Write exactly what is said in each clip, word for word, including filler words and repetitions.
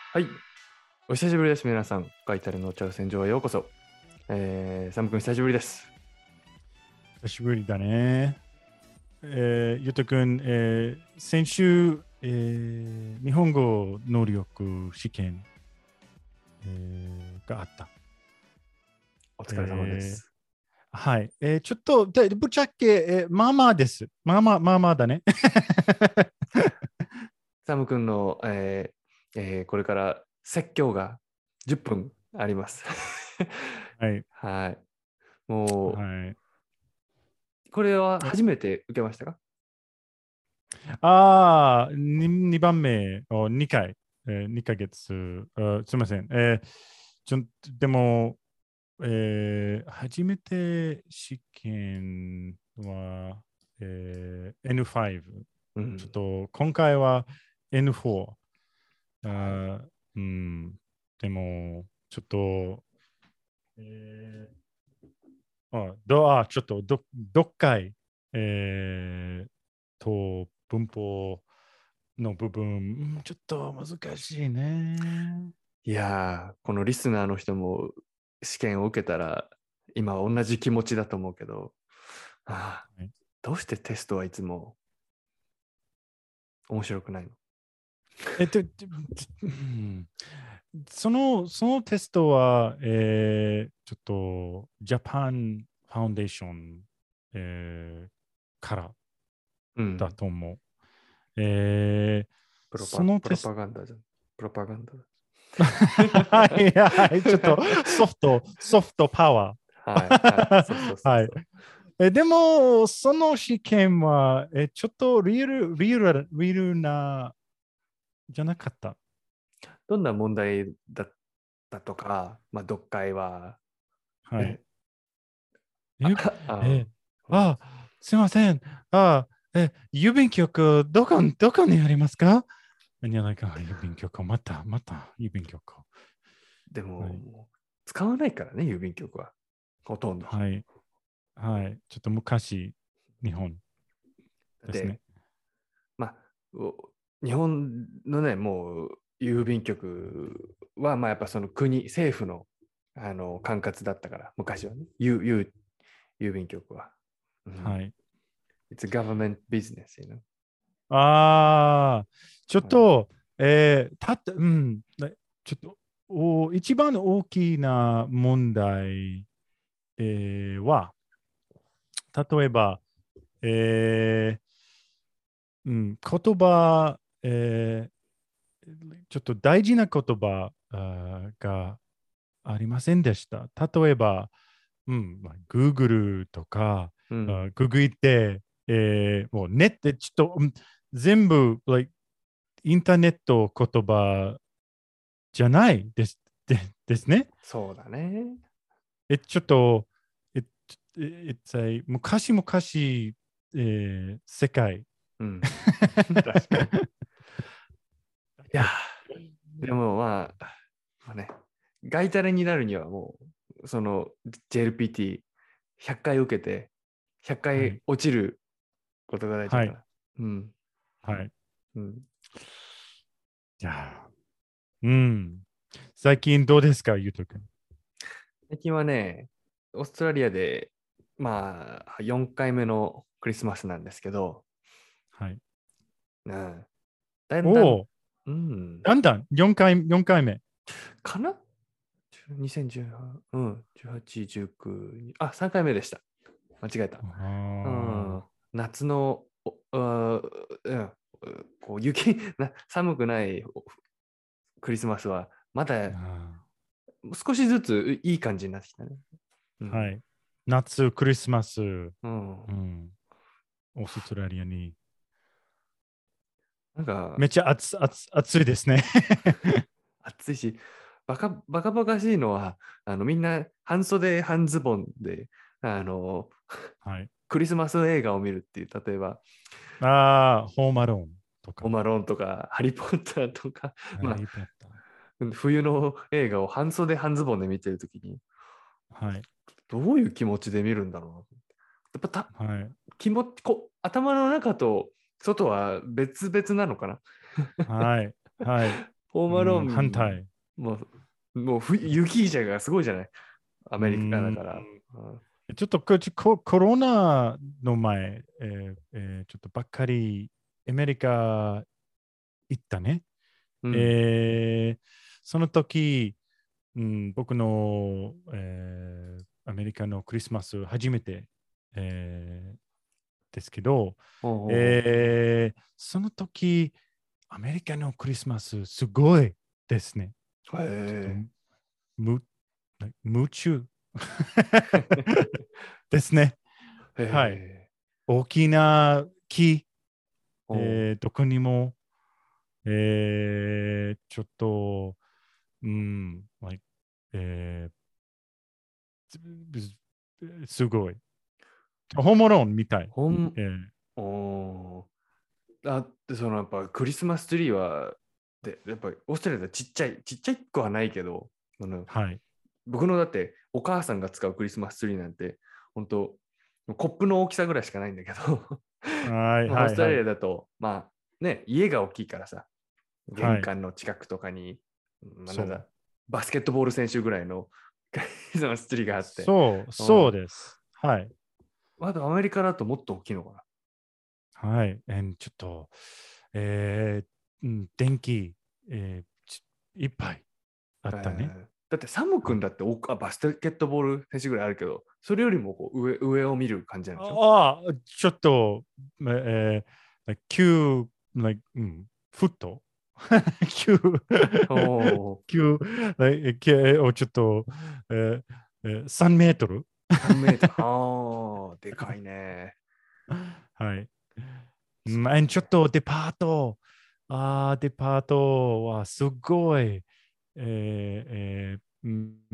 はい、お久しぶりです。皆さん、ガイタルの挑戦状へようこそ。えー、サム君、久しぶりです。 久しぶりだね。えー、ゆうとくん、えー、先週、えー、日本語能力試験、えー、があった。 お疲れ様でえー、 す。 はい。えー、ちょっと、でぶっちゃけ、えー、まあまあです。まあまあ、まあまあだね。 サム君の、えーえーこれから説教がじゅっぷんあります。 はい。 はい。もはい。 う、これはえ初めて受けましたか？ ああ、ににばんめをにかい、えー、にかげつ、あすみません。えー、ちょでも、えー、初めて試験は、えー、エヌファイブ。ちょっうん。 と今回は エヌフォー。 はい。 あーうん、でも、ちょっと、えー、あどあちょっとど、どっかい、えー、と文法の部分、うんちょっと難しいね。 いやー、このリスナーの人も試験を受けたら、今同じ気持ちだと思うけど、あーはい、 どうしてテストはいつも面白くないの？ えっと、うんその、そのテストは、えー、ちょっと、ジャパンファウンデーション、えーからうん。 だと思う。えー、 プロパ、プロそのテスト、 パガンダじゃん。プロパガンダだ。 はいはい、ちょっとソフト、ソフトパワはいはい。そうそうー。はい。 そうそう。 えでも、その試験は、えちょっとリアル、リアル、リアルな、じゃなかった。 どんな問題だったとか、まあ、読解は、 はい。 え、 え、 あ、 え、 うん、 あ、すいません。あ、え、郵便局、どこ、どこにありますか？いや、なんか、郵便局、また、また、郵便局。 でも、 はい。 もう使わないからね、郵便局は。ほとんど。 はい。はい。ちょっと昔、日本ですで、 ね。 まあ、お日本のね、もう郵便局は、まあ、やっぱその国、政府の、あの管轄だったから、昔はね、郵郵郵便局は。うん。 はい。 It's a government business, you know? ああ、ちょっはい。 と、えー、たった、うん、ねちょっと、お一番大きな問題、えーは、例えば、えーうん、言葉、えーちょっと大事な言葉あーがありませんでした。例えば、うん、まあ、Google とか、 うん。 あググって、えーもうネット、ちょっと、うん全部、like、インターネット言葉じゃないです、でですね。 そうだね。 え、ちょっと、え、え、え昔々、えー世界。 うん。確かに。いやー、でもまあ、まあね、ガイタレになるにはもう、その ジェルピーティーひゃっかい受けて、ひゃっかいはい。 落ちることが大事だはい。 から。うん。 はい。 うん。 じゃあ、うん。最近どうですか、ゆうとくん。 最近はね、オーストラリアで、まあ、よんかいめのクリスマスなんですけど、 はい。 うん、だんだん、 おお、 うん、 だんだんよんかい、よんかいめ。 かな？ にせんじゅうはち、うん、じゅうはち、じゅうきゅう、あ、さんかいめでした。間違えた。うあん、夏の、おあうん、こう雪な、寒くないクリスマスは、まだあ少しずついい感じになってきたね。うん。 はい。夏、クリスマス、ううん。 ん、オーストラリアに。 なんか、 めっちゃ暑暑暑いですね。 暑いし、バカ、バカバカしいのは、あの、みんな半袖半ズボンで、あの、 はい。 クリスマス映画を見るっていう、例えば、 ああ、ホームアローンとか、 ホームアローンとか、ハリー・ポッターとか、まあ、 ハリー・ポッタ冬の映画を半袖半ズボンで見てるときに、 ー。はい。 どういう気持ちで見るんだろうな。やっぱたはい。 気持ちこ頭の中と外は別々なのかな。 はい。はい。 ホームアローン、 うん反対。 もう、もうふ雪じゃがすごいじゃない。アメリカだから。 うんうんちょっとこココロナの前、えーえーちょっとばっかりアメリカ行ったね。 うんえーその時、うん、僕の、えーアメリカのクリスマス初めて、えーですけど、 ほうほうほうえーその時、アメリカのクリスマスすごいですね。ちょっとへむ夢中ですね。 え。へはい。 え。 大きな木、 ほえーどこにも、えーちょっと、うん、like えーすすごい。ホームローンみたい。 ほん、 えーおーあってそのやっぱクリスマスツリーはでやっぱりオーストラリアでちっちゃいちっちゃい子はないけどあのはい。 僕のだってお母さんが使うクリスマスツリーなんて本当コップの大きさぐらいしかないんだけどはい、はい、 まあオーストラはい。 リアだとまあね家が大きいからさ玄はい。 関の近くとかに、まあ、なそう。 んだバスケットボール選手ぐらいのクリスマスツリーがあってそう、そううんです。はい。 あとアメリカだともっと大きいのかなはい。えーちょっと、えーうん電気、えーちいっぱいあえったね。 ーだってサムはい。 君だっておあバスケットボール選手ぐらいあるけど、それよりもこう上上を見る感じなんでしょああ、ちょっと、えー、like 9、like うん、フットきゅう、 おー、 きゅう、like きゅうをちょっと、えーえー、さんメートルさんメートル。ああ、でかいね。 はい。うん、 そう and ちょっとデパート、ああ、デパートはすごい、えーえーうん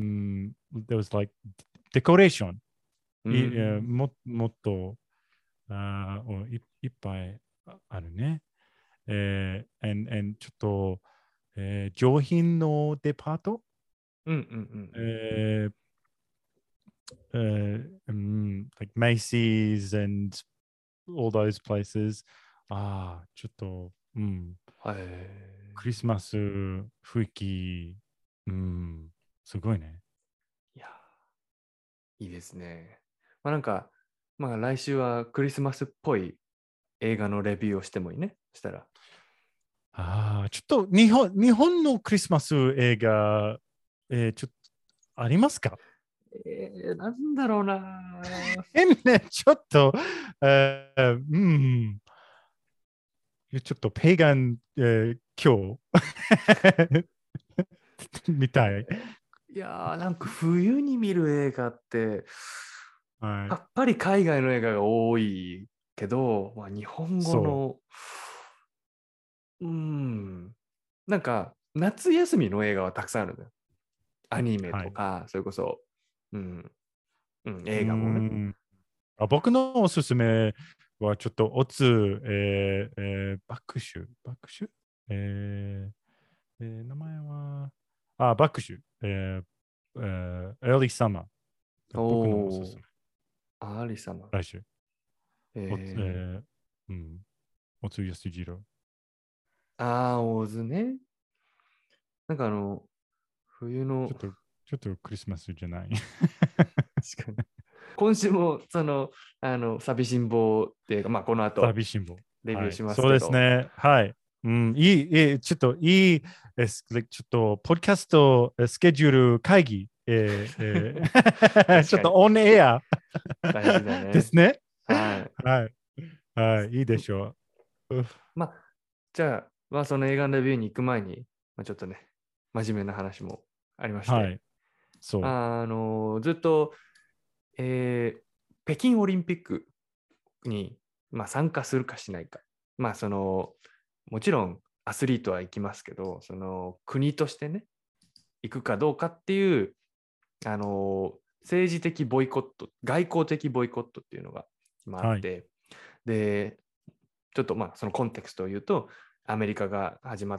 、there was like decoration うい、えーん。 ももっとあーい、いっぱいあるね。えー、and, and ちょっと、えー上品のデパート、 うんうんうんえーえーうん、like Macy's and all those places。ああ、ちょっと、うん、 うん。はい。 クリスマス雰囲気、うん、すごいね。 いや、いいですね。まあなんか、まあ来週はクリスマスっぽい映画のレビューをしてもいいね。したら。 ああ、ちょっと日本、日本のクリスマス映画、えーちょっとありますか？ えー、なんだろうな。 変ね、ちょっと、えーうん、ちょっとペイガン、えー今日みたい。 いやー、なんか冬に見る映画って、 はい。 やっぱり海外の映画が多いけど、まあ、日本語その、うーん、なんか夏休みの映画はたくさんあるんだよ。アニう。はい。 メとか、それこそ、うん、うん、 うー映画もね。 んあ僕のおすすめはちょっとオツ、えーえーバックシュ、バックシュ、えーえー名前は、あ、バックシュ、えーえー、Early Summer。僕のおすすおー、 め。 アリ様。 来週。おつ、ええーうん。おつゆすじろ。 ー、あー、オズね。なんかあの、冬の、 ちょっと、ちょっとクリスマスじゃない。 確かに。今週も、その、あの、寂しん坊っていうか、まあ、この後、 寂しんぼ。はい。 レビューしますそうけど、 ですね。はい。うん、いい、いい、ちょっといい、えすちょっと、ポッドキャストえスケジュール会議、えーえー確かに、 ちょっとオンエア大事だね。 ですね。 はい。 はい。はい。いいでしょう。うまあ、じゃあ、まあ、その映画のレビューに行く前に、まあ、ちょっとね、真面目な話もありまして、 はい。そう。 あのずっと、えー北京オリンピックに、まあ、参加するかしないか。まあ、その、もちろんアスリートは行きますけど、その国としてね、行くかどうかっていう、あの政治的ボイコット、外交的ボイコットっていうのが今あっはい。 て、で、ちょっとまあそのコンテクストを言うと、アメリカが始まって、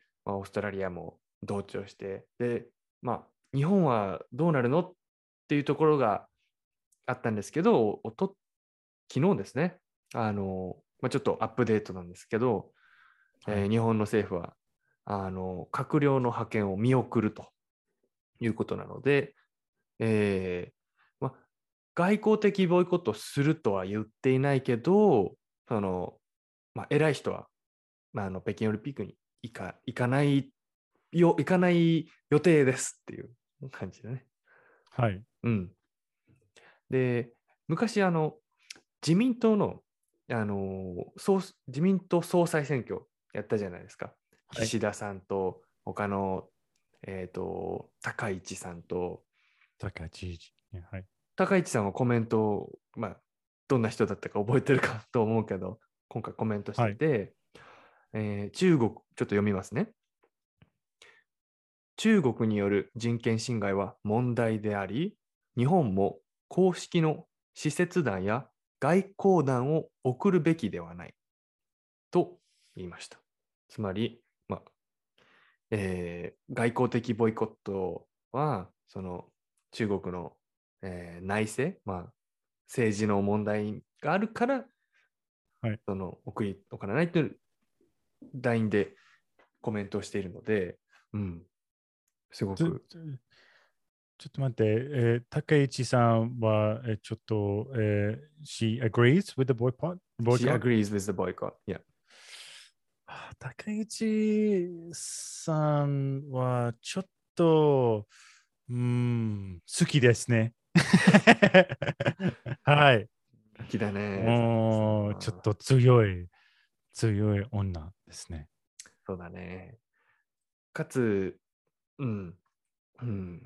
まあ、オーストラリアも同調して、で、まあ、日本はどうなるのっていうところがあったんですけど、おと昨日ですね、あの、まあ、ちょっとアップデートなんですけど、 はい。 えー日本の政府はあの閣僚の派遣を見送るということなので、えーま、外交的ボイコットするとは言っていないけど、そのまあ、偉い人は、まあ、あの北京オリンピックに行か、行かないよ、行かない予定ですっていう感じだね。 はい。 うん。で、昔、あの、自民党の、あの総自民党総裁選挙やったじゃないですか。 はい、 岸田さんと、他の、えっと、高市さんと、 高知事。はい。 高市さんはコメントを、まあ、どんな人だったか覚えてるかと思うけど、今回コメントしてて、えー中国、ちょっと読みますね。中国による人権侵害は問題であり、日本も公式の使節団や外交団を送るべきではないと言いました。つまり、まあえー外交的ボイコットは、その中国の、えー内政、まあ、政治の問題があるから、 はい、 その送りおかないというラインでコメントをしているので、うん、すごく。 ちょちょっと待って、えー、高市さんは、えー、ちょっと、えー、she agrees with the boycott? She boycott? agrees with the boycott. Yeah. あ高市さんはちょっと、うん、好きですね。はい。 好きだね。 もう、ちょっと強い、強い女ですね。 そうだね。かつ、うん、うん。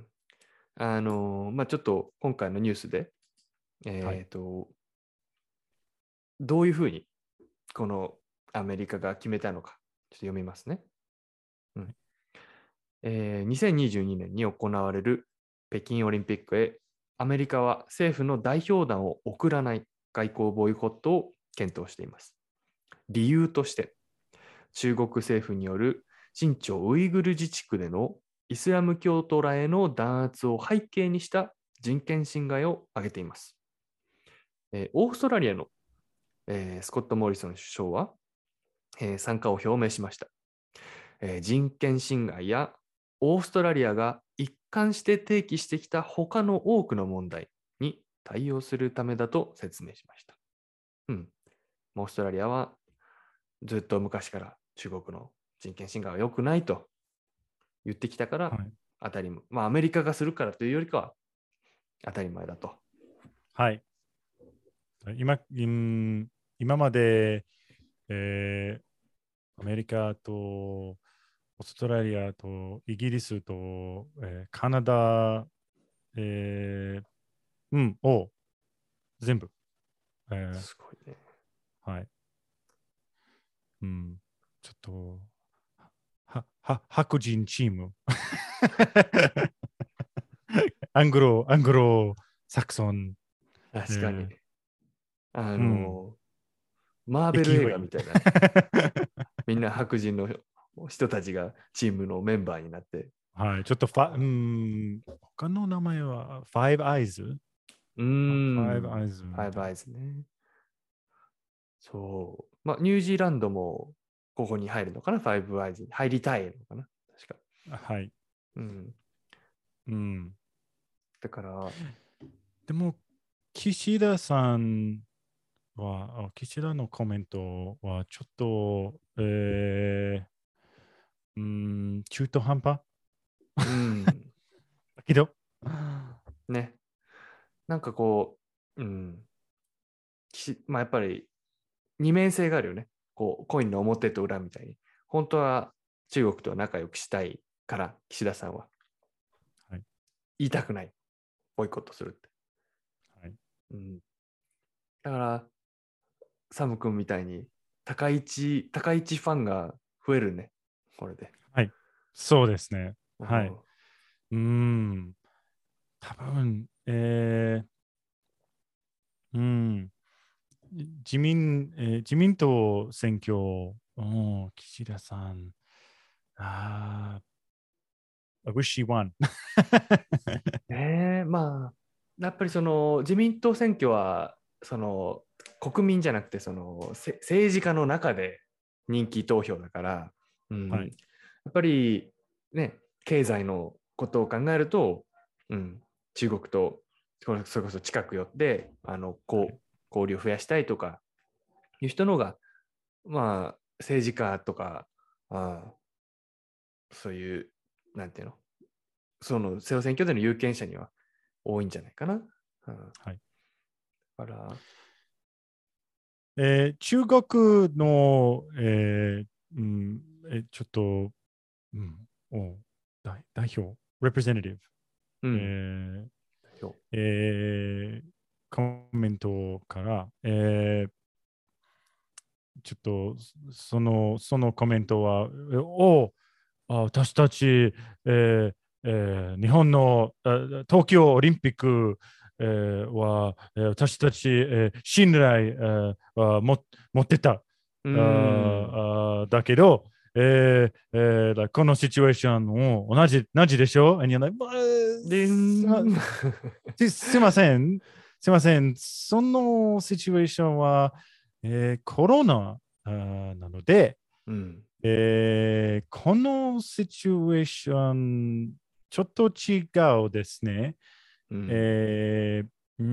あの、まあ、ちょっと今回のニュースで、 はい。 えっと、どういうふうにこのアメリカが決めたのか、ちょっと読みますね。うんえーにせんにじゅうにねんに行われる北京オリンピックへ、アメリカは政府の代表団を送らない外交ボイコットを検討しています。理由として、中国政府による新疆ウイグル自治区でのイスラム教徒らへの弾圧を背景にした人権侵害を挙げています。えーオーストラリアの、えースコット・モリソン首相は、えー参加を表明しました。えー人権侵害やオーストラリアが一貫して提起してきた他の多くの問題に対応するためだと説明しました。うん。オーストラリアはずっと昔から中国の人権侵害は良くないと言ってきたから、 はい。 当たり前。まあ、アメリカがするからというよりかは当たり前だと。 はい。今、今今まで、えー、アメリカとオーストラリアとイギリスと、えー、カナダ、えー、うん、を全部、えー、 すごいね。 はい。うん、ちょっと、は、は、白人チーム。アングロ、アングロサクソン、 確かに。 えー、 あうん、 の、マーベル勢映画い。 みたいなね。みんな白人の人たちがチームのメンバーになって。 はい、ちょっとファ、うん、他の名前は、ファイブアイズうーファイブん。 アイズファイブみたいな。 アイズね。そう。まあ、ニュージーランドもここに入るのかな、ファイブアイズに入りたいのかな、確か。 はい。 うん。 うん。 だから、 でも、岸田さんは、あ岸田のコメントはちょっと、えー、うん、中途半端うん。 だけど、 ね。なんかこう、うん。きまあ、やっぱり二面性があるよね。こう、コインの表と裏みたいに。本当は中国とは仲良くしたいから、岸田さんは。 はい。 言いたくない。ボイコットするって。 はい。 うん。だから、サム君みたいに、高市、高市ファンが増えるね。これで。 はい。そうですね。はい。 うん。 うん。多分、えー、うん。自民、えー自民党選挙、うん、岸田さん、あー、I wish she won. ねえ、まあ、やっぱりその自民党選挙は、その国民じゃなくて、そのせ政治家の中で人気投票だから、うん、 はい。 っぱりね、経済のことを考えると、うん、中国とそれこそ近く寄ってあのこう交流を増やしたいとかいう人のが、まあ、政治家とか、あそういう、なんていうの、その選挙での有権者には多いんじゃないかな。うん、 はい。 だから、 えー中国の、えーうんえーちょっと、うん、お代代表、representative、 うん、 えーそうえーコメントから、えーちょっとそのそのコメントは、えおあ私たち、えーえー日本のあ東京オリンピック、えーは、えー私たち、えー信頼、えーはも持ってた。 うあん。 ーあーだけど、えーえーだこのシチュエーションも同じ同じでしょ ?And you're like, "まあですまん。 すすいません。すいません。そのシチュエーションは、えーコロナあーなので、 うん。 えーこのシチュエーション、ちょっと違うですね。 うん。 えーうん、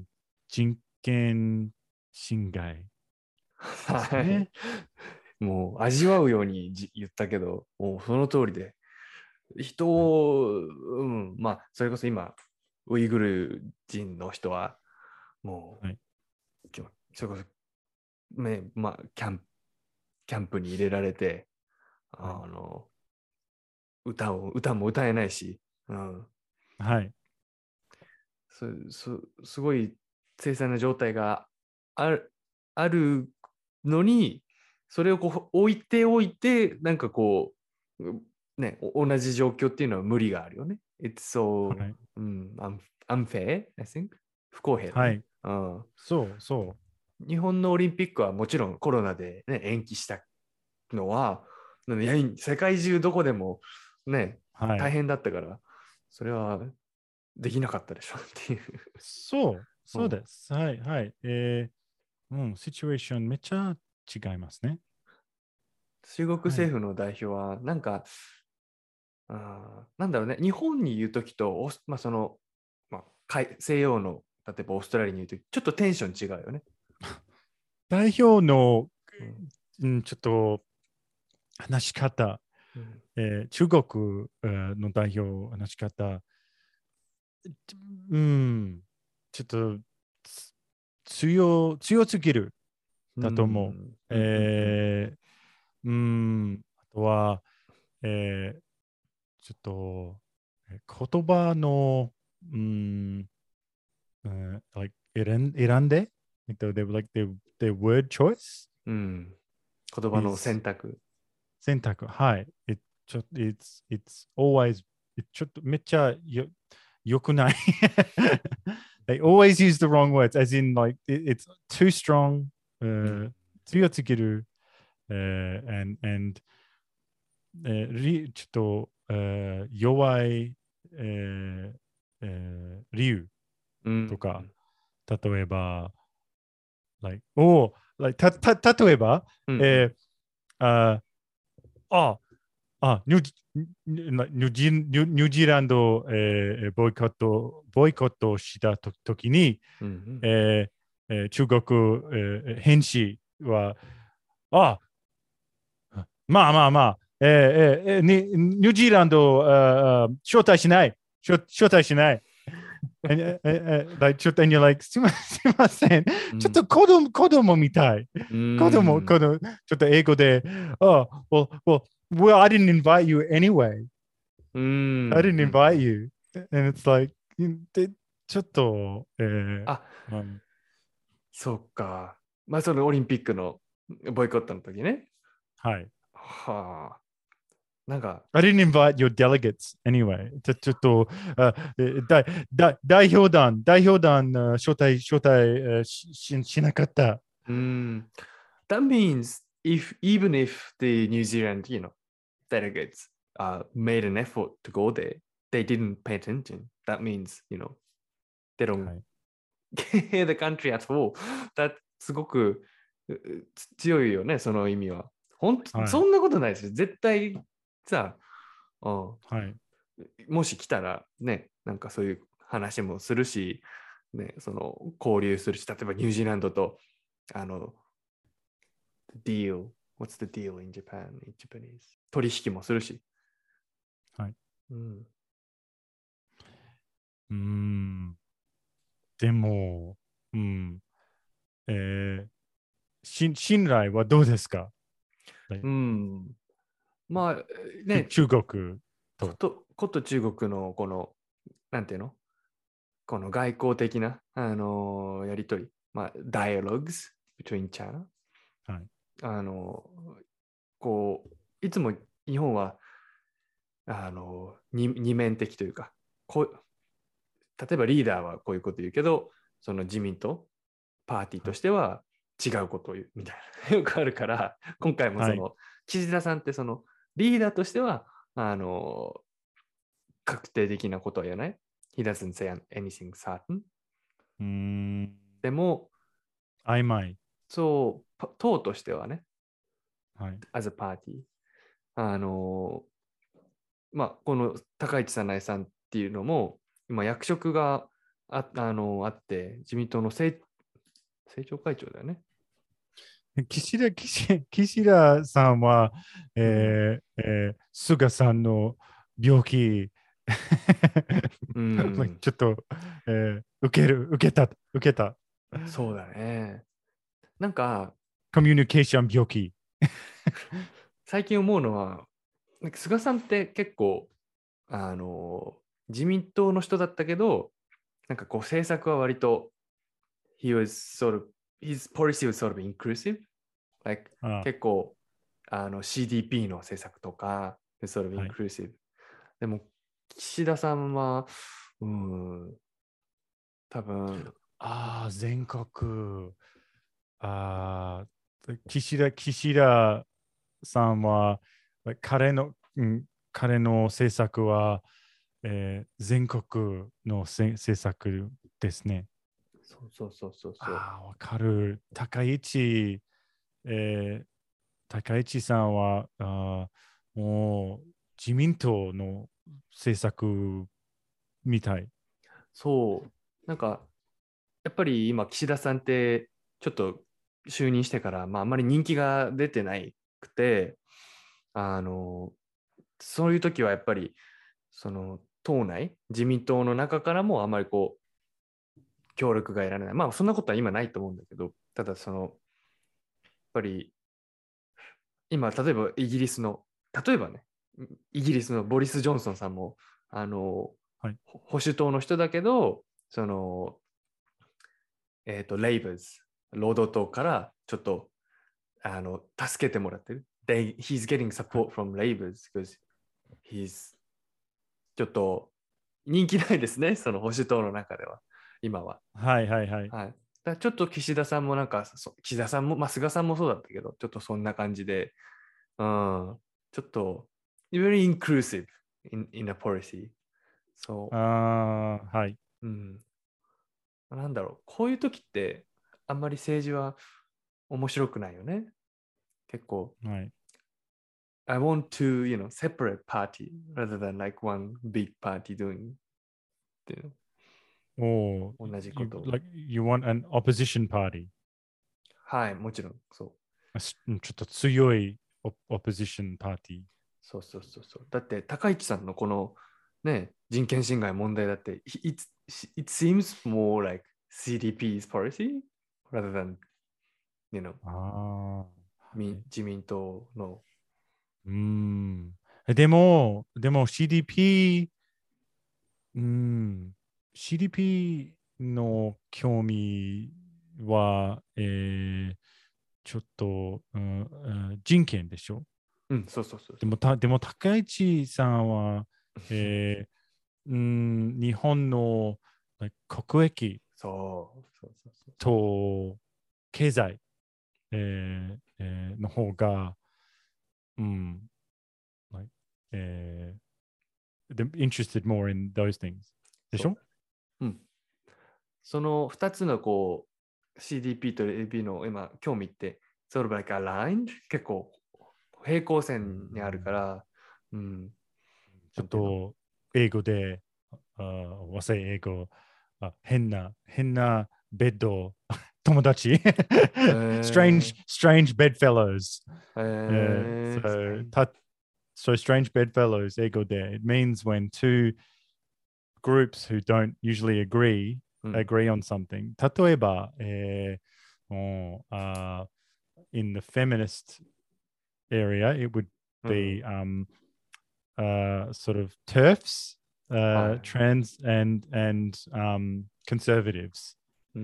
人権侵害ですはい。 ね。 もう味わうようにじ言ったけど、もうその通りで、人はい。 を、うん、まあ、それこそ今、ウイグル人の人は、もはい。 う、きょそれこそ、ね、まあ、キャンプ、キャンプに入れられて、 はい。 あの、歌を、歌も歌えないし、うん、 はい。 そそすごい凄惨な状態があるあるのに、それをこう置いておいて、なんかこう、ね、お同じ状況っていうのは無理があるよね。It's so、 はい。 うん、un- unfair, I think. 不公平だね。 はい。 うん、 そう、そ日本のオリンピックはもちろんコロナで、ね、延期したのは、いや世界中どこでも、ね、 う。はい。 大変だったから、それはできなかったでしょっていう。 そう、 うん、 そうです。はい。はい。えー、うん、シチュエーションめっちゃ違いますね。 中国はい。 政府の代表は、なんか、あなんだろうね、日本に言うときと、おまあ、その、まあ、海西洋の、例えばオーストラリアに言うとき、ちょっとテンション違うよね。 代表の、 うん。 うん、ちょっと話し方、 うん。 えー中国えーの代表話し方、うん、ちょっとつ強強すぎるうだと思う。 ん。うん。うん。 えー、うん、あとは、えー、ちょっとえー言葉の、うん、uh, like 選ん選んで、like the, the, like the, the word choice うん。言葉の is 選択。 選択。はい。It, ちょ it's, it's always, it ちょっとめっちゃよよくない。They always use the wrong words, as in like it, it's too strong, うん。 uh, 強すぎる、uh, and, and えーりちょっと、えー弱い、えーえー理由うん。 とか、例えば、like、お like、たた例えば、 うん。うん。 えー、あああニューニュニュジニュニュージーランド、えー、ボイコットボイコットしたときに、 うん。 えーえー中国、えー、兵士は、あまあまあまあ、えーえー、ニニュージーランド、あ招待しない。招待しない。ええええちょっと、like、すみません。ちょっうん。 と子供子供みたい。 う子供、 ん。 子供、ちょっと英語で、oh, well, well, well, I didn't invite you anyway. う I ん。 didn't うん。う invite ん。 you. And it's like, でちょっと、えーあ、 うん、 そっか。まあ、そのオリンピックのボイコットの時ね。 はい。 はあ。なんか、 I didn't invite your delegates anyway. ちょちょっと、あえだだ代表団、代表団、あ招待、招待えーしししなかった。 mm, that means if even if the New Zealand, you know, delegates uh, made an effort to go there, they didn't pay attention. That means, you know, they don't はい。 care the country at all. That すごくうう強いよね、その意味は。本当はい。 そんなことないですよ。絶対さ、うん、 はい。 もし来たらね、なんかそういう話もするし、ね、その交流するし、例えばニュージーランドと、あの、deal, what's the deal in Japan, in Japanese? 取引もするし。 はい。 うん。 うーん。でも、うん。えー、し信頼はどうですか？ うん。まあ、 中ね、 中国と。 こと、こと中国のこの、なんていうのこの外交的な、あのーやりとり、まあ、dialogues between China。 はい。 あのーこう、いつも日本は、あのー二、二面的というか、こう、例えばリーダーはこういうこと言うけど、その自民党、パーティーとしては違うことを言うみたいな、よくあるから、今回もはい。 その、岸田さんってその、リーダーとしては、あのー確定的なことは言わない。He doesn't say anything certain. うーん。 でも、 曖昧。 そう、党としてはね、 はい。 as a party、あのーまあ、この高市早苗さんっていうのも、今役職があ、あのーあって、自民党の政政調会長だよね。 岸田、岸岸田さんは、 うん。 えーえー菅さんの病気、 うん、 ちょっと、えー受ける、受けた、受けた。 そうだね。なんか、 コミュニケーション病気。 最近思うのは、なんか菅さんって結構、あのー自民党の人だったけど、なんかこう政策は割と、he was sort of, his policy was sort of inclusive. Like, あ、 結構あの シーディーピー の政策とか、sort of はい。 inclusive。でも、岸田さんは、うん、多分、 ああ、全国。ああ、岸田、岸田さんは、彼の、うん、彼の政策は、えー全国のせ政策ですね。 そうそうそうそうそああ、わかる。高市、えー高市さんは、あーもう自民党の政策みたい。 う。そう。なんか、やっぱり今、岸田さんって、ちょっと就任してから、まあ、あんまり人気が出てないくて、あの、そういう時はやっぱり、その、党内、自民党の中からもあまりこう、協力が得られない。まあ、そんなことは今ないと思うんだけど、ただ、その、やっぱり、今、例えばイギリスの、例えばね、イギリスのボリス・ジョンソンさんも、あの、 はい。 保守党の人だけど、その、えっ、ー、と、レイバーズ、労働党からちょっと、あの、助けてもらってる。They, he's getting はい。 support from Labours because he's ちょっと人気ないですね、その保守党の中では、今は。 はいはいはい。 はい。だちょっと岸田さんもなんか、岸田さんも、まあ、菅さんもそうだったけど、ちょっとそんな感じで、うん、ちょっと、very inclusive in, in a policy。そああ、はい。 う。うん。なんだろう。こういう時って、あんまり政治は面白くないよね。結構、 はい。 I want to, you know, separate party rather than like one big party doing っていうおー、 の同じこ you, とを。 like, you want an opposition party. はい、もちろん、そう。 あしちょっと強いオオポジションパーティー。 そうそうそうそう。だって、高市さんのこのね、人権侵害問題だって、it, it seems more like シーディーピー's policy rather than, you know, ああ、はい。 自民党の。 うーん。でも、でも シーディーピー、うーん、シーディーピー の興味は、えー、ちょっと、うん、うん人権でしょ？ うん、そうそうそうそう。 でも、たでも高市さんは、えー、うん、日本の国益そうそうそうそうそう。 と経済、えーえーの方が、うん、like えー、で interested more in those things でしょ？ そうだ。うん。そのふたつのこう シーディーピー と エーピー の今興味って、sort of like aligned 結構平行線にあるから、 うん。 ちょっと英語で、あ和製英語、あ変な、変なベッド、友達 strange, え strange bedfellows. ー、 Uh, えー、スペイ so, ン。 た so strange bedfellows, 英語で it means when two groups who don't usually agree うん。 agree on something. 例えば、えーもう uh, in the feminist area, it would うん。 be um, uh, sort of TERFs, は uh, い。 trans and and um, conservatives. うん。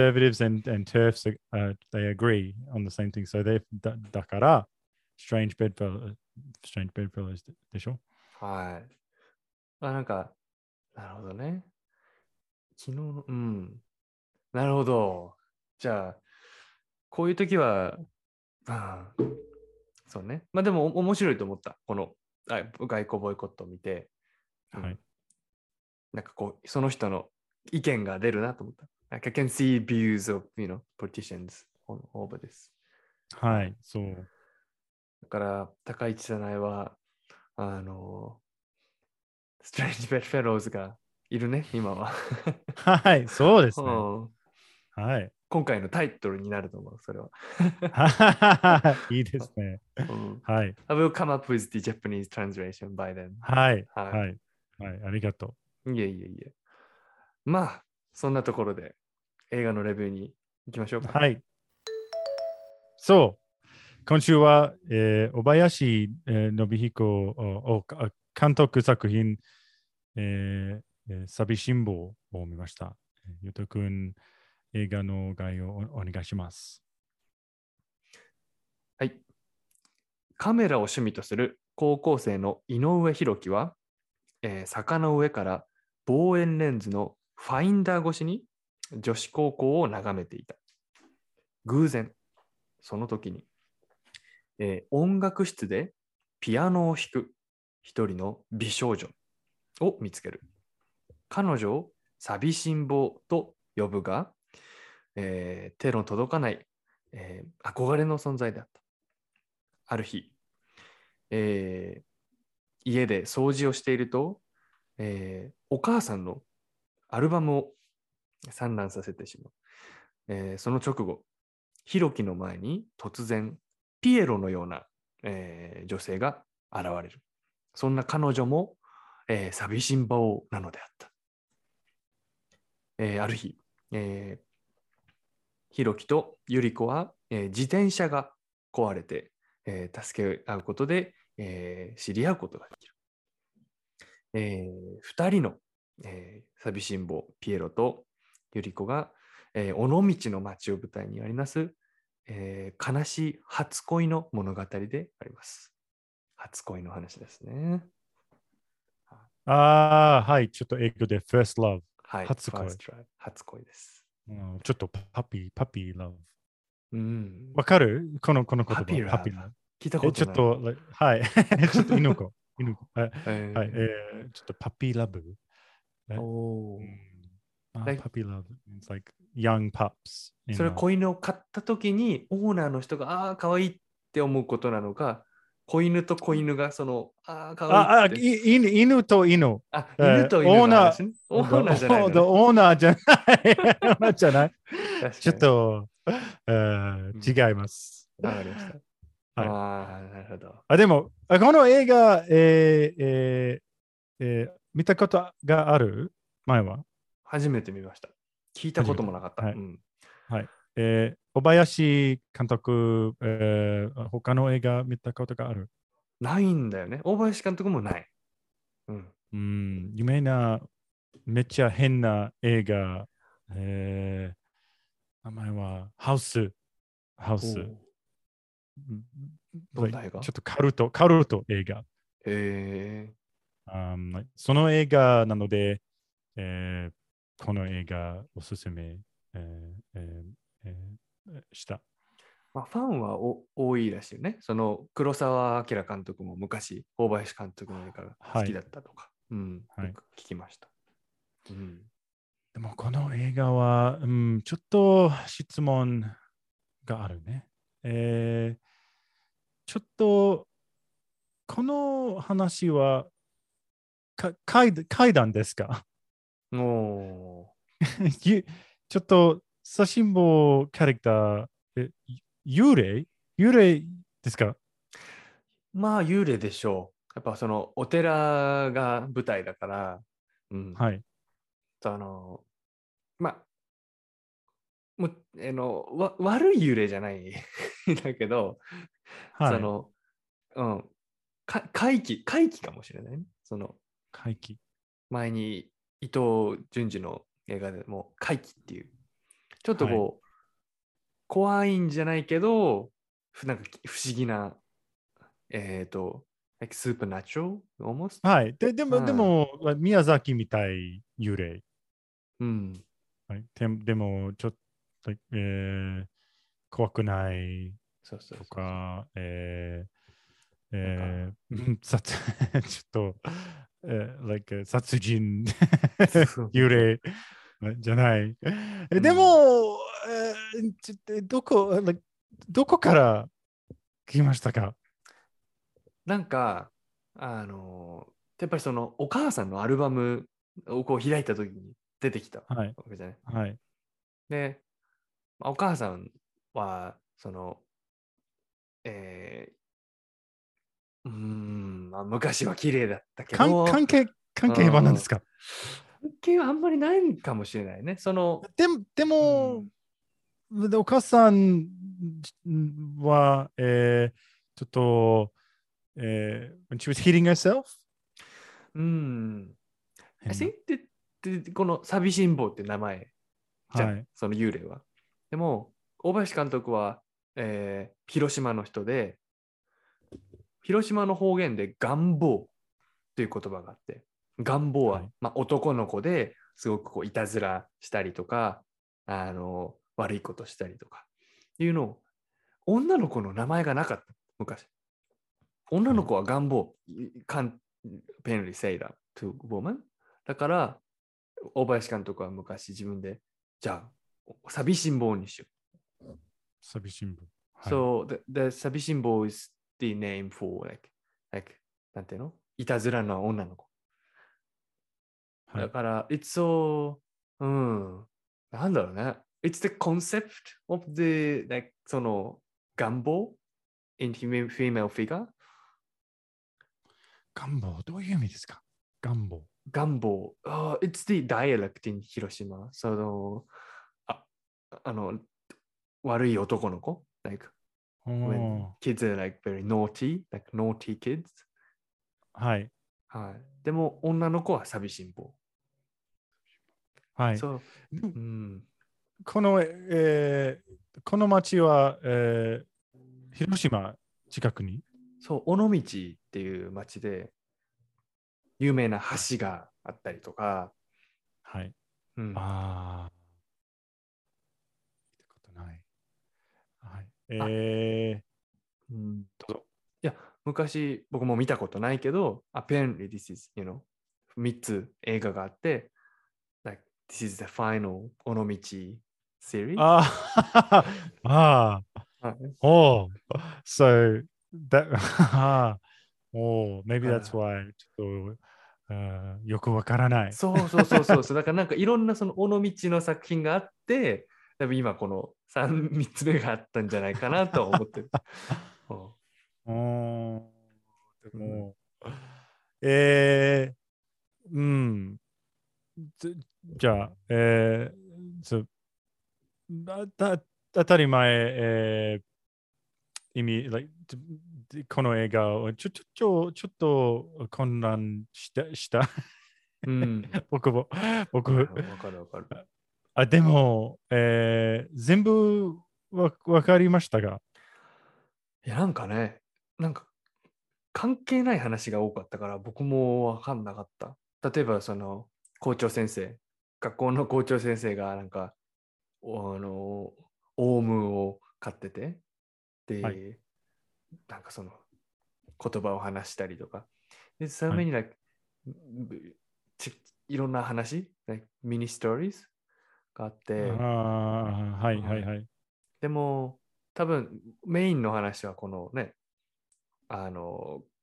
Conservatives and and TERFs uh, they agree on the same thing. So they だだから strange bedfellows, strange bedfellows でしょ？ はい。あ、なんか、なるほどね。昨日の、うん。なるほど。じゃあ、こういう時は、あーそうね。まあでもお面白いと思った。このあ外交ボイコットを見て、うん、 はい。 なんかこう、その人の意見が出るなと思った。Like I can see views of, you know, politicians on over this. はい、そう。 だから、高市早苗は、あの、ストレンジ・ベッド・フェローズがいるね、今は。 はい、そうですね。 うん、 はい。 今回のタイトルになると思う、それは。 いいですね。 うん、 はい。 I will come up with the Japanese translation by then. はい。 ははい。はい。ありがとい。いえいえいえ。まあ、そんなところで映画のレビューに行きましょうう。 か。 はい。そう。今週は、えー、小林、えー、信彦を監督作品、えーえー、寂しんぼを見ました。ゆうとくん、映画の概要をお願いします。 はい。カメラを趣味とする高校生の井上弘樹は、えー坂の上から望遠レンズのファインダー越しに女子高校を眺めていた。偶然、その時に、えー音楽室でピアノを弾く一人の美少女を見つける。彼女を寂しん坊と呼ぶが、えー手の届かない、えー憧れの存在であった。ある日、えー家で掃除をしていると、えーお母さんのアルバムを散乱させてしまう。えーその直後、ヒロキの前に突然、ピエロのような、えー女性が現れる。そんな彼女も、えー寂しん坊なのであった。えーある日、えー、ヒロキとユリコは、えー自転車が壊れて、えー助け合うことで、えー知り合うことができる。えー、ふたりの、えー寂しん坊ピエロとユリコが、えー尾道の町を舞台にあります、えー悲しい初恋の物語であります。初恋の話ですね。 ああ、はい。ちょっと英語で First Love。 はい、 初恋。 ファーストライブ、初恋です。 うん、ちょっとパピー、パピー Love。 うん。 わかるこのこの言パピ葉。 ーラブ。 パピー Love。 聞いたえ、 ことない。 ちょっと、はい。ちょっと犬子。犬子。はい。はい、 ええー、ちょっとパピーラブ。 ー、 え、うおー。 ん、あ、 like パピーラブ。It's like young pups そ in れ love。 子犬を飼った時にオーナーの人がああかわいいって思うことなのか、子犬と子犬がそのああかわいいっあ、あ、 て、 い犬犬と犬。 あ、犬えー、 と犬オーナの話ね。オー、 ーナーじゃないの the ね。 オーナーじゃない。オーナーじゃない。ちょっ確かに。 と、えうん、 ー違います。 わかりました。 はい。 ああ、なるほど。 あ、でも、あこの映画、えーえーえー見たことがある前は初めて見ました。聞いたこ初めて。 ともなかった。 はい。 うん。 はい。えー小林監督、えー他の映画見たことがあるないんだよね。大林監督もない。うん。 うん、有名な、めっちゃ変な映画、えー、名前はハウス、ハウス。 おううんどんな映画？ ちょっとカルト、カルト映画。 へえ。 Um, その映画なので、えーこの映画おすすめ、えーえーえーした。 まあ、ファンはお多いらしいよね。その黒澤明監督も昔、大林監督の映画が好きはい。 だったとか、うん、 はい。 よく聞きました。うん、 でもこの映画は、うん、ちょっと質問があるね。えーちょっとこの話はか階階段ですか？ もゆちょっと、写真簿キャラクター、え幽霊幽霊ですか？ う、まあ幽霊でしょう。やっぱそのお寺が舞台だから、うん。 はい。 その、まあ、もう、あの、わ悪い幽霊じゃないだけど、そはい。 の、うん、か怪奇、怪奇かもしれないね。その、 怪奇。 前に伊藤潤二の映画でも怪奇っていう、ちょっとはい。 こう、怖いんじゃないけど、ふなんか不思議な、えっ、と、like supernatural almost? はい。で、でも、でうん。 も、宮崎みたい幽霊。 うん。 はい。ででも、ちょっと、えー怖くないそうそうとそうそう。 か、えーなんか、 えー、殺ちょっと、えー、like 殺人そうそうそう。 幽霊じゃない。えでうん。 も、えーちょっとどこ、like どこから来ましたか？ なんか、あのーやっぱりそのお母さんのアルバムをこう開いた時に出てきたわはい。 けじゃない。 はい。 で、まあお母さんは、その、えー、うーん、まあ、昔は綺麗だったけ関ど、 関係、関う係は何でん、 すか？ 関係はあんまりないかもしれないね。その、 でも、でも、 うん、 でお母さんは、えー、ちょっと、えー、when she was hitting herself? うん、I 変 think な。 で、でこの寂しん坊って名前じゃん、 はい。 その幽霊は。でも、大林監督は、えー広島の人で、広島の方言で願望という言葉があって、願望は、 はい。 まあ、男の子ですごくこういたずらしたりとか、あの悪いことしたりとかいうのを、女の子の名前がなかった、昔。女はい。 の子は願望、can't apparently say that to woman。だから、大林監督は昔自分で、じゃあ、寂しん坊にしよ寂しんぼ。 う。 はい。 So, the, the 寂しん坊 is the name for, like, like, なんていうのいたずらな女の子。 はい。 だから、it's so, うん、なんだろうね。It's the concept of the, like, その、願望 in female figure。 願望、どういう意味ですか？願望。 願望。Uh, it's the dialect in 広島。その、あ、あの、悪い男の子。Like, お when ー kids are like very naughty, like naughty kids。 はい。 はい。でも、女の子は寂しん坊。 はい。 そう。 でもうん。 この、えーこの町は、えー広島近くに。 そう、尾道っていう町で、有名なはい。 橋があったりとか、 はい。 うん。 ああ、見たことない。はい。 あ、 えうん。 ー、どうぞ。 いや、昔僕も見たことないけど、apparently this is, you know, みっつ映画があって、like, this is the final 尾道 series。 ああ、ああ、 はい。 oh, so that, ああ、oh, だ maybe か that's ら、 why ちょっと、あーよくわからない。 そうそうそうそうそう、だからなんかいろんなその尾道の作品があって、多分今このさん、みっつめがあったんじゃないかなとは思ってる。ううーん、でん。 も、えー、うん、じじゃあ、えー、そうだだ当たり前、えー、意味、like この映画をちょちょちょちょっと混乱した。したうん。 僕も、僕、 はいはい、わかるわかる。 あ、でも、えー、全部わわかりましたが、 いや、なんかね、なんか関係ない話が多かったから僕もわかんなかった。例えばその校長先生、学校の校長先生がなんか、おあの、オウムを飼ってて、 はい、 で、なんかその言葉を話したりとか。で、so はい。 many like ちいろんな話、like mini stories があっあて、 あ、はい、はい、 はい。 はい。 でも、多分メインの話はこのね、あの、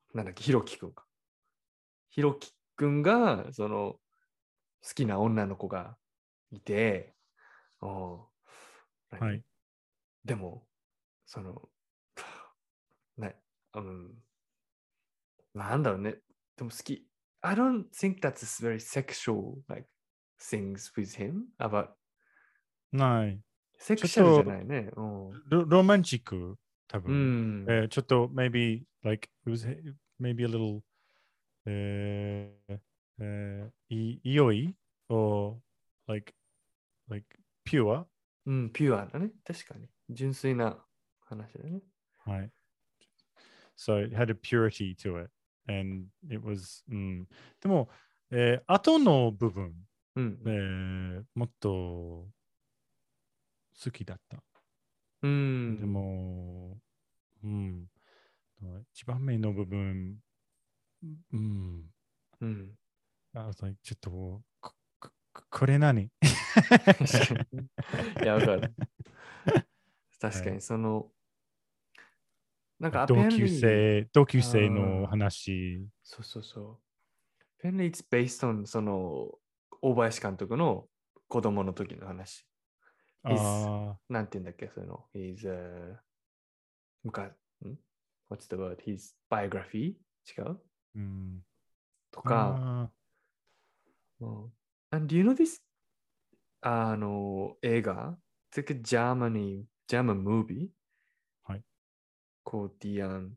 なんだっけ、ひろきくんか。ひろきくんが、その、好きな女の子がいて、お何はい。 でも、その、ね、うん、なんだろうね。でも好き。I don't think that's very sexual, like, things with him, about ない。 セクシャルじゃちょっとないね。うん。 ロロマンチック、多う分。 ん。 えーちょっと、maybe, like, it was maybe a little, えーえーい良い or, like, like, pure? うん、ピュアだね。確かに。純粋な話だね。 はい。So it had a purity to it. And it was, うん、でも、えー後の部分、 うん。 えーもっと好きだった。 うでん。 も、うん、一番目の部分、うん、 うん。 I was like, ちょっと、こここれ何確かに。いや、わかる。確かに、 はい、 その、なんか、 同級 apparently、 生、同級生のああ、 話。 そうそうそう。apparently it's based on その、大林監督の子供の時の話。his、 あなんて言うんだっけ、その、his、uh, 昔、ん what's the word? his biography? 違うー、うん、 とか、 あうん。And do you know this? あの、映画 It's like a Germany, German movie ー、はい。 called the, um,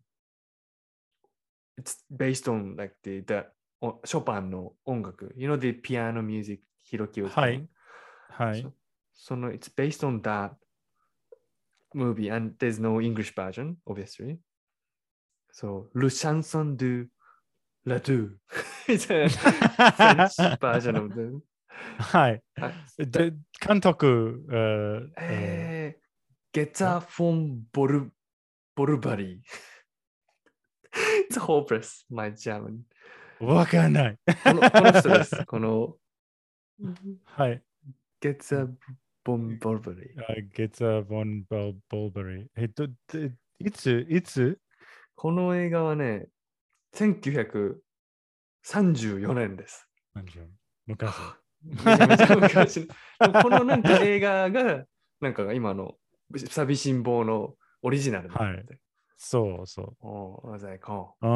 it's based on like the, the おショパンの音楽。You know the piano music Hiroki was はい。 playing? はい。 そその、it's based on that movie and there's no English version, obviously. So, Le Chanson de la Deux. It's a French version of the... はい。 あだで、監督、えーええー、ゲッツーはァー・フォン・ボル、ボルバリー。It's hopeless, my German. わかんない。 この、この人です。この、 はい。 ゲッツァー・ボン・ボルバリー。 ゲッツァ・ボン・ボルボルバリー。えっと、でいつ、いつこの映画はね、せんきゅうひゃくさんじゅうよねんです。 何でしょう昔。 めちゃめちゃ昔。でもこのなんか映画が、なんか今の寂しん坊のオリジナルなんはい。 だって。 そうそおー、わざいか。 う。うん。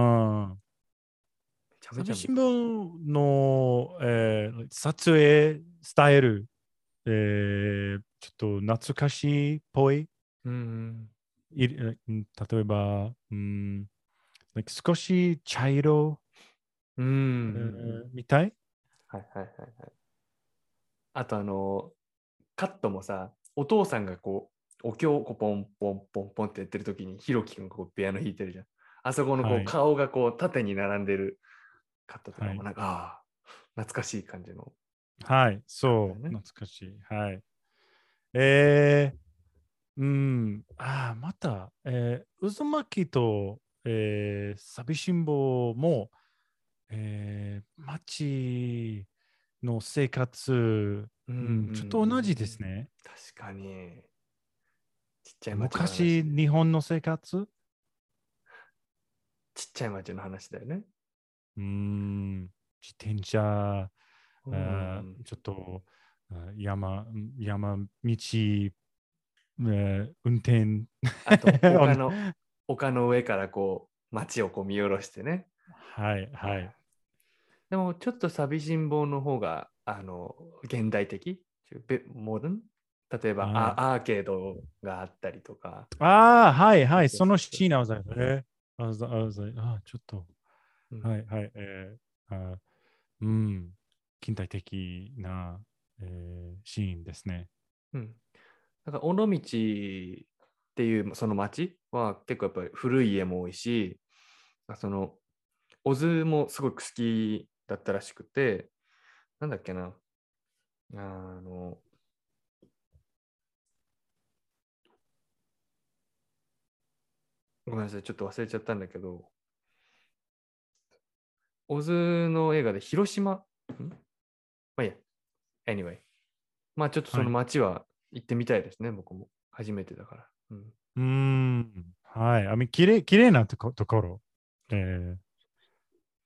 めちゃめちゃ見た。 寂しん坊の、えー撮影スタイル、えーちょっと懐かしいっぽい。 うん。 いうん例えば、うん、like 少し茶色、 うん。 えうんーみたい。 はいはいはいはい。あとあの、カットもさ、お父さんがこう、お経をこうポンポンポンポンってやってる時に、ひろきくんがこうピアノ弾いてるじゃん。あそこのこうはい。 顔がこう縦に並んでるカットとかはい。 もなんか、ああ、懐かしい感じのはい。そう。 カットだよね。 懐かしい。はい。えー、うん。ああ、また、えー、渦巻きと、えー、寂しん坊も、えー、街の生活、 うんうんうん、ちょっと同じでうん。 すね。 確かに、ちっちゃい町の昔、 話で。 日本の生活、 ちっちゃい町の話だよね。 うん、自転車、 うあん。 ちょっとあ山、山道、えー運転。 あと、丘の、丘の上からこう、町をこう見下ろしてね。 はい、はい。 はい。でも、ちょっと寂しん坊の方が、あの、現代的、モダン例えばはい。 ア、アーケードがあったりとか。 ああ、はい、はい。 そうそうそのそうそう。 シーン、I was like, えー I was, I was like, あーちょっと、 うん。 はい、はい。えーあーうん、近代的な、えーシーンですね。 うん。だから、尾道っていうその町は結構やっぱり古い家も多いし、その、小津もすごく好きだったらしくて、なんだっけな、あの、ごめんなさい、ちょっと忘れちゃったんだけど、小津の映画で広島、んまあいいや、anyway。まあちょっとそのはい。 街は行ってみたいですね、僕も。初めてだから。うん、 うーん、はい。あみ、きれい、きれいなとこところ。えー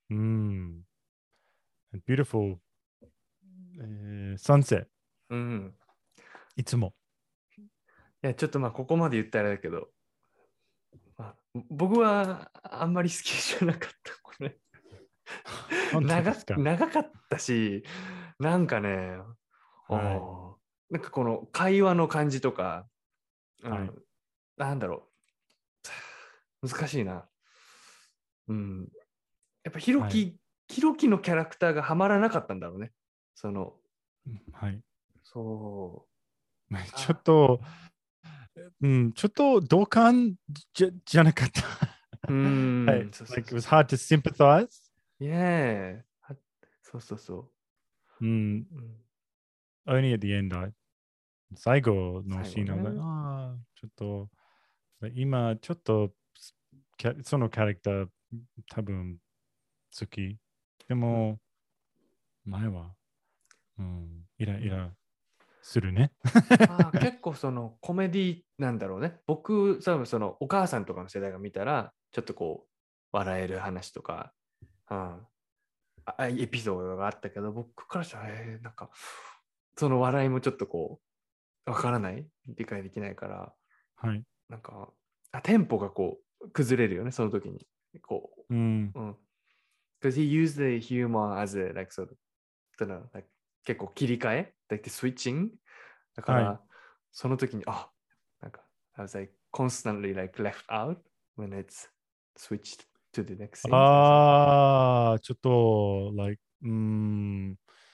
うん。beautiful、えー、sunset。 うん。 いつも。 いや、ちょっとまあ、ここまで言ったらだけど、まあ、僕はあんまり好きじゃなかった、これ。 本当で長すか？ 長かったし、なんかね、 はい。 おーなんかこの会話の感じとか、うはい。 ん、なんだろう、難しいな。うん、やっぱひろはい。 き、ひろきのキャラクターがはまらなかったんだろうね。その、 はい。 そう。 ちょあ、 っと、うん、ちょっと同感じゃ、じゃなかった。 うはい。 ん、そうそう Like it そう was そう。 hard to sympathize. いえ、はそうそうそうん。 う。うん、 Only at the end, I 最後の最後シーンが、 ね。 ああ、ちょっと、今、ちょっと、キャそのキャラクター、多分好き。でうん、 も、前は、うん、イラうん、 イラするね。 まあ結構そのコメディなんだろうね。僕、多分そのお母さんとかの世代が見たら、ちょっとこう、笑える話とか、うん、あエピソードがあったけど、僕からしたら、えーなんか、その笑いもちょっとこう、わからない、理解できないから、 はい。 なんか、あテンポがこう、崩れるよね、その時に。こうん。 う、うん。because he used the humor as a, like, sort of, don't know, like, 結構切り替え like the switching だかはい。 ら、その時に、あ、なんか、I was like constantly like left out when it's switched to the next scene. So it's like, ああ、ちょっと、like、うん、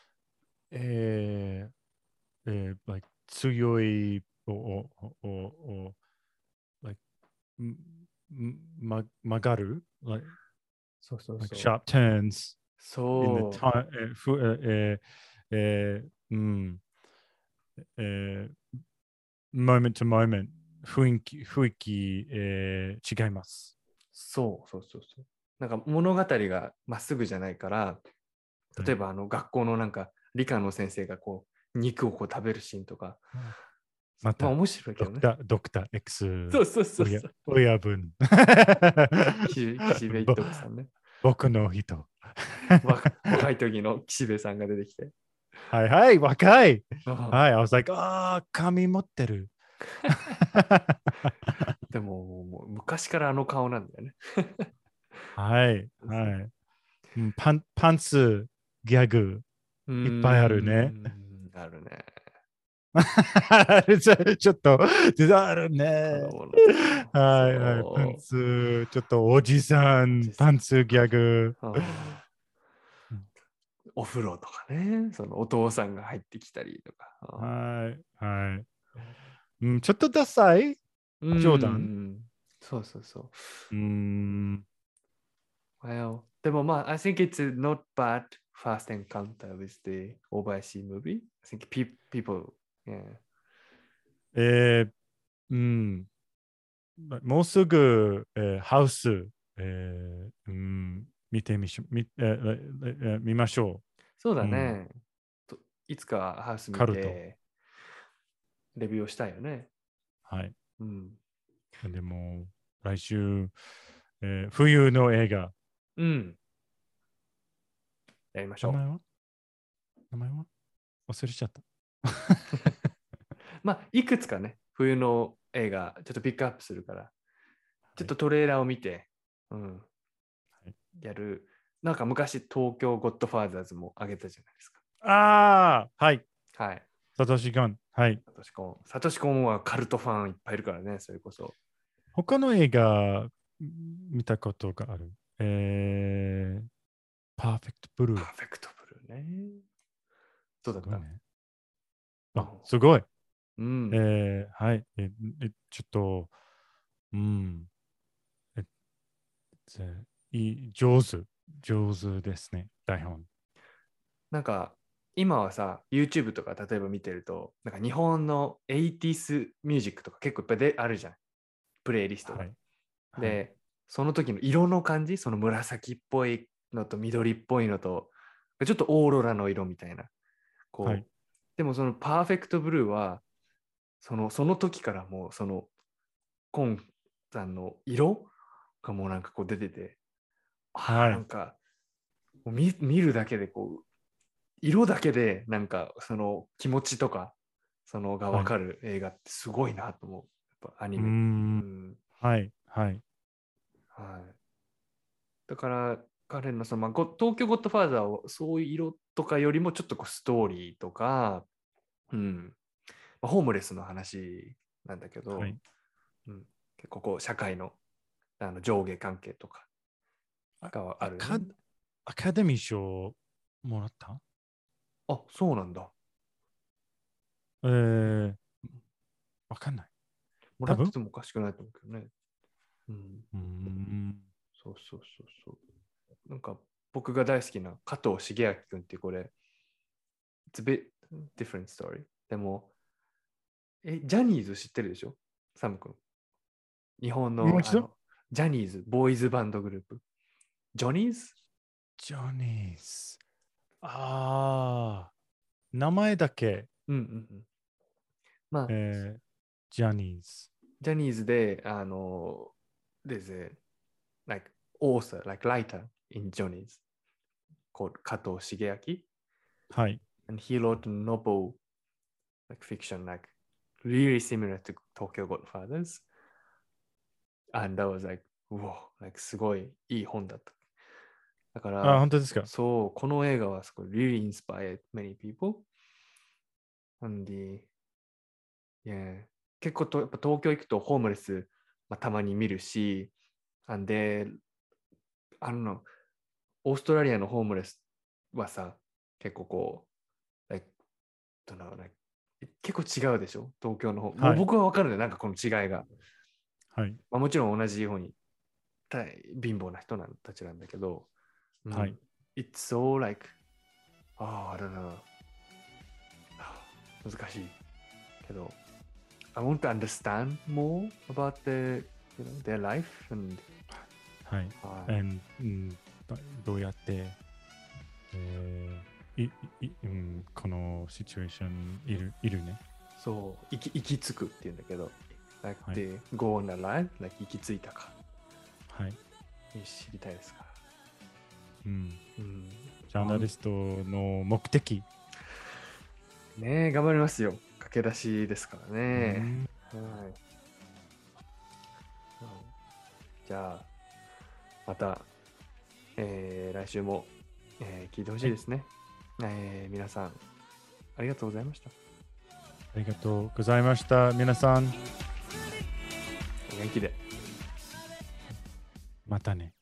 えー、えー、like、強い、お、お、お、お、like、んんま、曲がる like, そうそう like そう。 sharp turns in the そ time, えー、ふ、えー、えー、うん、えー、moment to moment、雰囲気、雰囲気、えー、違います。 そうそうそうそう。なんか物語がまっすぐじゃないから、 はい。 例えばあの学校のなんか理科の先生がこう肉をこう食べるシーンとか、まあまた、 面白いけどね。 ドクター、ドクター X、 そうそうそう親、 そう。 親分。 岸岸辺一ぼ徳さんね。 僕の人。 若若い時の岸辺さんが出てきて。 はいはい、若い。はい、 あ I was like, ああ、髪持ってる。 でももう昔からあの顔なんだよね。 はい、はい。うんパン、パンツ、ギャグ、 うーいっぱいあるね。 ん、あるね。 ちょちょっと、あるね。 子供の時の。 はいはい、パンそツ、ちょっとおじさう。おん、 じさん。 パンツギャグ。 あーお風呂とかね。そのお父さんが入ってきたりとか。あはい、はい。うん、ちょっとダサいーうージョーダン。 ん。そうそうそう。 うーん。 Well, でもまあ、I think it's not bad first encounter with the Obayashi movie. I think pe people, yeah. えー、うん。もうすぐ、えーハウス、えーうん、見てみしょ、み、えーえー見ましょそうう。うん。 だね。といつかハウス見カルト。 て、レビューをしたいよね。 はい。 うん。 でも、来週、えー冬の映画。 うん。やりましょ名前は名前は忘れちゃった。 う。まあ、いくつかね、冬の映画、ちょっとピックアップするから、ちょっはい。 とトレーラーを見て、うん、 はい、 やる。なんか昔、東京ゴッドファーザーズもあげたじゃないですか。 ああ、はい。 はい。 サトシガン。はい。 サトシコン。サトシコンはカルトファンいっぱいいるからね、それこそ。 他の映画見たことがある。えー、パーフェクトブルー。 パーフェクトブルーね。どうだったすごいね。 うあ、すごい。 ん。 えー、はい。え、えちょっと、うん。え、ぜいい、上手。上手ですね。台本。 なんか、今はさ、YouTube とか例えば見てると、なんか日本のエイティースミュージックとか結構いっぱいであるじゃん。プレイリストが。 はい。はい。 で、その時の色の感じ、その紫っぽいのと緑っぽいのと、ちょっとオーロラの色みたいな。 はい。 こう。でもそのパーフェクトブルーは、そのその時からもうそのコンさんの色がもうなんかこう出てて、ああ、 はい。 なんかもう 見, 見るだけでこう色だけでなんかその気持ちとかそのが分かる映画ってすごいなと思う。やっぱアニメ。 うーんうん、 はいはいはい。だから彼のその、まあ、ご東京ゴッドファーザーをそういう色とかよりもちょっとこうストーリーとか、うんまあ、ホームレスの話なんだけど、 はいうん、結構こう社会の、あの上下関係とかがある、 アカね。 アカデミー賞もらったあ、そうなんだ。 えー、わかんない。 もらって多分てもおかしくないと思うけどね。うん。 うーん。 そうそうそうそう。なんか僕が大好きな加藤茂明君っていうこれ、It's a bit different story。でも、え、ジャニーズ知ってるでしょサム君。日本もう一度のあのジャニーズ、ボーイズバンドグループ。ジョニーズジョニーズ。ああ、名前だけ、 うんうんうん。まあ、 えー、ジャニーズ。 ジャニーズで、あの、there's a like author, like writer in Johnny's called 加藤茂明はい。 and he wrote a novel like fiction like really similar to Tokyo Godfathers and that was like whoa like すごいいい本だった。だかあ、 ら本当ですか。 そう、この映画はすごい really inspired many people and the yeah 結構とやっぱ東京行くとホームレス、まあ、たまに見るし and they あのオーストラリアのホームレスはさ結構こう like どの like 結構違うでしょ東京の方、もうはい。 僕は分かるねなんかこの違いが、 はい。 まあ、もちろん同じように貧乏な人なんたちなんだけど、うん、 はい。 It's so like oh I don't know 難しいけど I want to understand more about the, you know, their life and はい。 はい And うんどどうやって、えーいいうん、このシチュエーションいるいるね。 そう行き行き着くっていうんだけど like はい they go on a line like 行き着いたかはい。 知りたいですか、 うん。 うん、 ジャーナリストの目的。 ねえ頑張りますよ駆け出しですからうね、 んはい、うんじゃあまた、えー来週も、えー聞いてほしいですね、えー皆さんありがとうございました。 ありがとうございました。皆さん、 お元気で。 またね。